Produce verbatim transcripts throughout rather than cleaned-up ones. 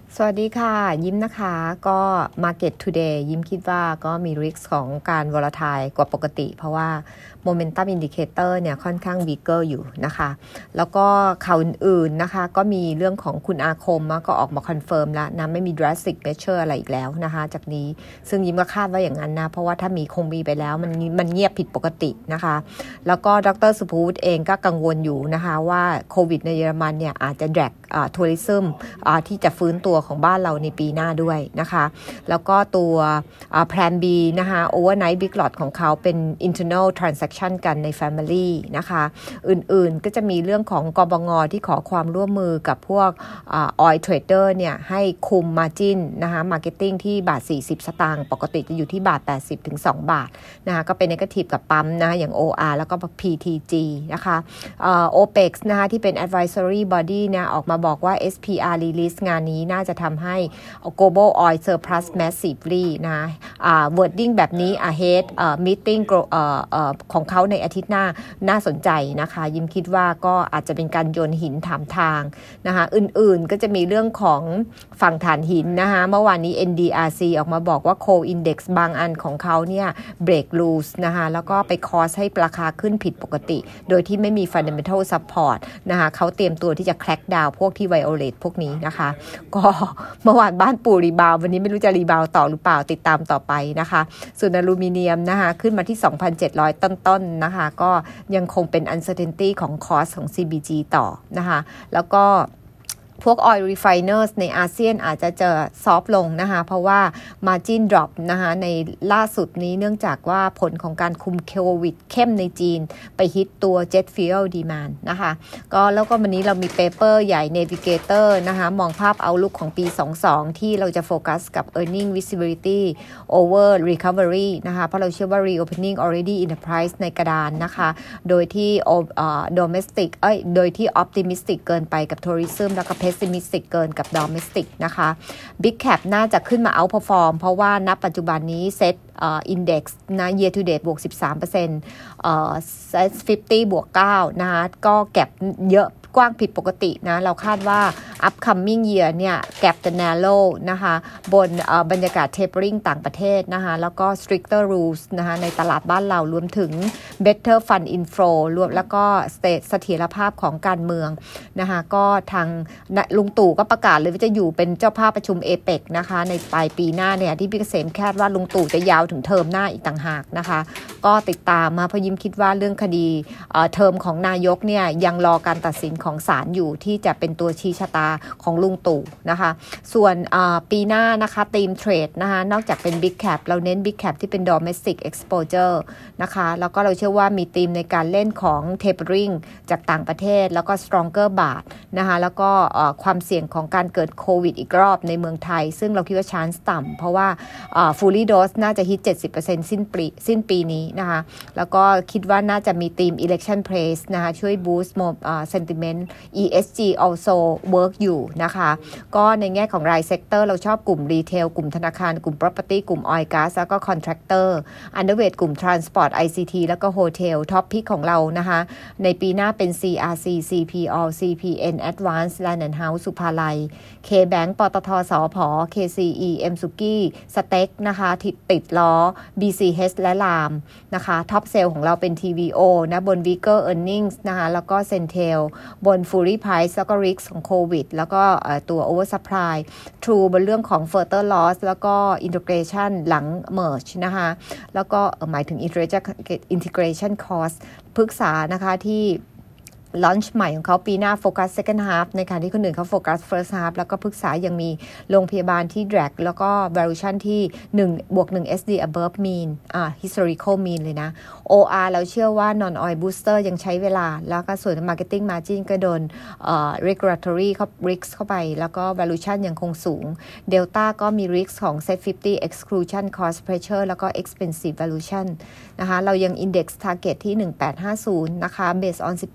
สวัสดีค่ะยิ้มนะคะก็ Market Today ยิ้มคิดว่าก็มี risk ของการ volatile กว่าปกติเพราะว่า Momentum Indicator เนี่ยค่อนข้าง weaker อยู่นะคะแล้วก็ข่าวอื่นๆนะคะก็มีเรื่องของคุณอาคมก็ออกมา confirm แล้วนะไม่มี drastic measure อะไรอีกแล้วนะคะจากนี้ซึ่งยิ้มก็คาดว่าอย่างนั้นนะเพราะว่าถ้ามีคงมีไปแล้วมันมันเงียบผิดปกตินะคะแล้วก็ดรสุภูตเองก็กังวลอยู่นะคะว่าโควิดในเยอรมันเนี่ยอาจจะ drag อ่า tourism อ่าที่จะฟื้นตัวของบ้านเราในปีหน้าด้วยนะคะแล้วก็ตัวอ่า Plan B นะคะ Overnight Big Lot ของเขาเป็น internal transaction กันใน Family นะคะอื่นๆก็จะมีเรื่องของกบง.ที่ขอความร่วมมือกับพวกอ่า Oil Trader เนี่ยให้คุม Margin นะคะ Marketing ที่บาทสี่สิบสตางค์ปกติจะอยู่ที่บาทแปดสิบถึงสองบาทนะคะก็เป็น negative กับปั๊มนะอย่าง โอ อาร์ แล้วก็ พี ที จี นะคะเอ่อ โอ พี อี อี นะคะที่เป็น Advisory Body เนี่ยออกมาบอกว่า เอส พี อาร์ Release งานนี้น่าจะทำให้ Global Oil Surplus Massively นะอ่า wording แบบนี้ ahead เอ่อ meeting เอ่อเอ่อของเขาในอาทิตย์หน้าน่าสนใจนะคะยิ้มคิดว่าก็อาจจะเป็นการโยนหินถามทางนะคะอื่นๆก็จะมีเรื่องของฝั่งถ่านหินนะคะเมื่อวานนี้ เอ็น ดี อาร์ ซี ออกมาบอกว่า Coal Index บางอันของเขาเนี่ย break loose นะคะแล้วก็ไป cause ให้ราคาขึ้นผิดปกติโดยที่ไม่มี fundamental support นะคะเขาเตรียมตัวที่จะ crack down พวกที่ violate พวกนี้นะคะก็เมื่อวานบ้านปูรีบาววันนี้ไม่รู้จะรีบาวต่อหรือเปล่าติดตามต่อไปนะคะส่วนอลูมิเนียมนะคะขึ้นมาที่ สองพันเจ็ดร้อย ต้นๆนะคะก็ยังคงเป็น uncertainty ของ cost ของ ซี บี จี ต่อนะคะแล้วก็พวก oil refiners ในอาเซียนอาจจะเจอซอฟลงนะคะเพราะว่า margin drop นะคะในล่าสุดนี้เนื่องจากว่าผลของการคุมโควิดเข้มในจีนไปฮิตตัว jet fuel demand นะคะก็แล้วก็วันนี้เรามีเปเปอร์ใหญ่ Navigator นะคะมองภาพ outlook ของปีสองสิบสองที่เราจะโฟกัสกับ earning visibility over recovery นะคะเพราะเราเชื่อว่า reopening already in the price ในกระดานนะคะโดยที่ domestic เอ้ยโดยที่ optimistic เกินไปกับ tourism แล้วก็pessimistic เกินกับ domestic นะคะ Big Cap น่าจะขึ้นมา outperform เพราะว่าณปัจจุบันนี้ Set เอ่อ Index นะ year to date บวก สิบสามเปอร์เซ็นต์ เอ่อ Set ห้าสิบ บวก เก้า นะคะก็แก็บเยอะกว้างผิดปกตินะเราคาดว่า upcoming year เนี่ย gap จะ narrow นะคะบนบรรยากาศ tapering ต่างประเทศนะคะแล้วก็ stricter rules นะคะในตลาดบ้านเรารวมถึง better fund inflow รวมแล้วก็ state เสถียรภาพของการเมืองนะคะก็ทางลุงตู่ก็ประกาศเลยว่าจะอยู่เป็นเจ้าภาพประชุม เอ เปค นะคะในปลายปีหน้าเนี่ยที่พี่เกษมคาดว่าลุงตู่จะยาวถึงเทอมหน้าอีกต่างหากนะคะก็ติดตามมาเพราะยิ้มคิดว่าเรื่องคดีเทอมของนายกเนี่ยยังรอการตัดสินของศาลอยู่ที่จะเป็นตัวชี้ชะตาของลุงตู่นะคะส่วนปีหน้านะคะธีมเทรดนะคะนอกจากเป็น Big Cap เราเน้น Big Cap ที่เป็น Domestic Exposure นะคะแล้วก็เราเชื่อว่ามีธีมในการเล่นของ Tapering จากต่างประเทศแล้วก็ Stronger Baht นะคะแล้วก็ความเสี่ยงของการเกิดโควิดอีกรอบในเมืองไทยซึ่งเราคิดว่า chance ต่ำเพราะว่า fully dose น่าจะฮิต เจ็ดสิบเปอร์เซ็นต์ สิ้นปีสิ้นปีนี้นะคะแล้วก็คิดว่าน่าจะมีธีม election praise นะคะช่วย boost sentiment อี เอส จี also work อยู่นะคะก็ในแง่ของรายเซกเตอร์เราชอบกลุ่มรีเทลกลุ่มธนาคารกลุ่ม property กลุ่ม oil gas แล้วก็ contractor underweight กลุ่ม transport ไอ ซี ที แล้วก็ hotel top pick ของเรานะคะในปีหน้าเป็น ซี อาร์ ซี ซี พี All ซี พี เอ็น Advance Land and House สุภาลัย K-Bank ปตท.สผ. เค ซี อี M สุกี้สเต็กนะคะติดติดล้อ บี ซี เอช และลามนะคะท็อปเซลล์ของเราเป็น ที วี โอ นะบน weaker earnings นะคะแล้วก็ Centel บน Fury Price แล้วก็ risk ของโควิดแล้วก็ตัว oversupply True บนเรื่องของ further loss แล้วก็ integration หลัง merge นะคะแล้วก็หมายถึง integration cost ปรึกษานะคะที่ลอนช์ใหม่ของเขาปีหน้าโฟกัส second half ในขณะที่คนอื่นเขาโฟกัส first half แล้วก็ปรึกษายังมีโรงพยาบาลที่ drag แล้วก็ valuation ที่หนึ่งบวกหนึ่ง เอส ดี above mean อ่า historical mean เลยนะ โอ อาร์ เราเชื่อว่า non oil booster ยังใช้เวลาแล้วก็ส่วน marketing margin ก็โดนเอ่อ regulatory เข้า risk เข้าไปแล้วก็ valuation ยังคงสูง Delta ก็มี risk ของ Set ห้าสิบ exclusion cost pressure แล้วก็ expensive valuation นะคะเรายัง index target ที่หนึ่งพันแปดร้อยห้าสิบนะคะ based on สิบแปดจุดห้า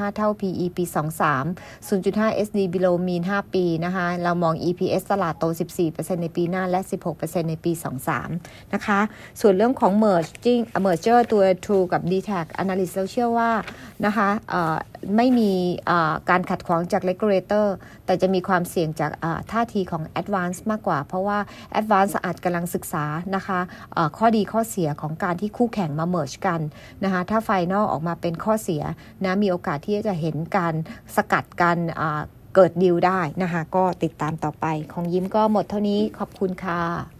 าเท่า พี อี ปีสองพันสาม ศูนย์จุดห้า เอส ดี below mean ห้าปีนะคะเรามอง อี พี เอส ตลาดโต สิบสี่เปอร์เซ็นต์ ในปีหน้าและ สิบหกเปอร์เซ็นต์ ในปีสองพันสามนะคะส่วนเรื่องของ merging merger ตัว True กับ ดี แท็ก Analyst เราเชื่อว่านะคะไม่มีการขัดขวางจาก regulator แต่จะมีความเสี่ยงจากท่าทีของ Advance มากกว่าเพราะว่า Advance อาจกำลังศึกษานะคะข้อดีข้อเสียของการที่คู่แข่งมา merge กันนะคะถ้า Final ออกมาเป็นข้อเสียนะมีโอกาสที่จะเห็นการสกัดกันเกิดดีลได้นะคะก็ติดตามต่อไปของยิ้มก็หมดเท่านี้ขอบคุณค่ะ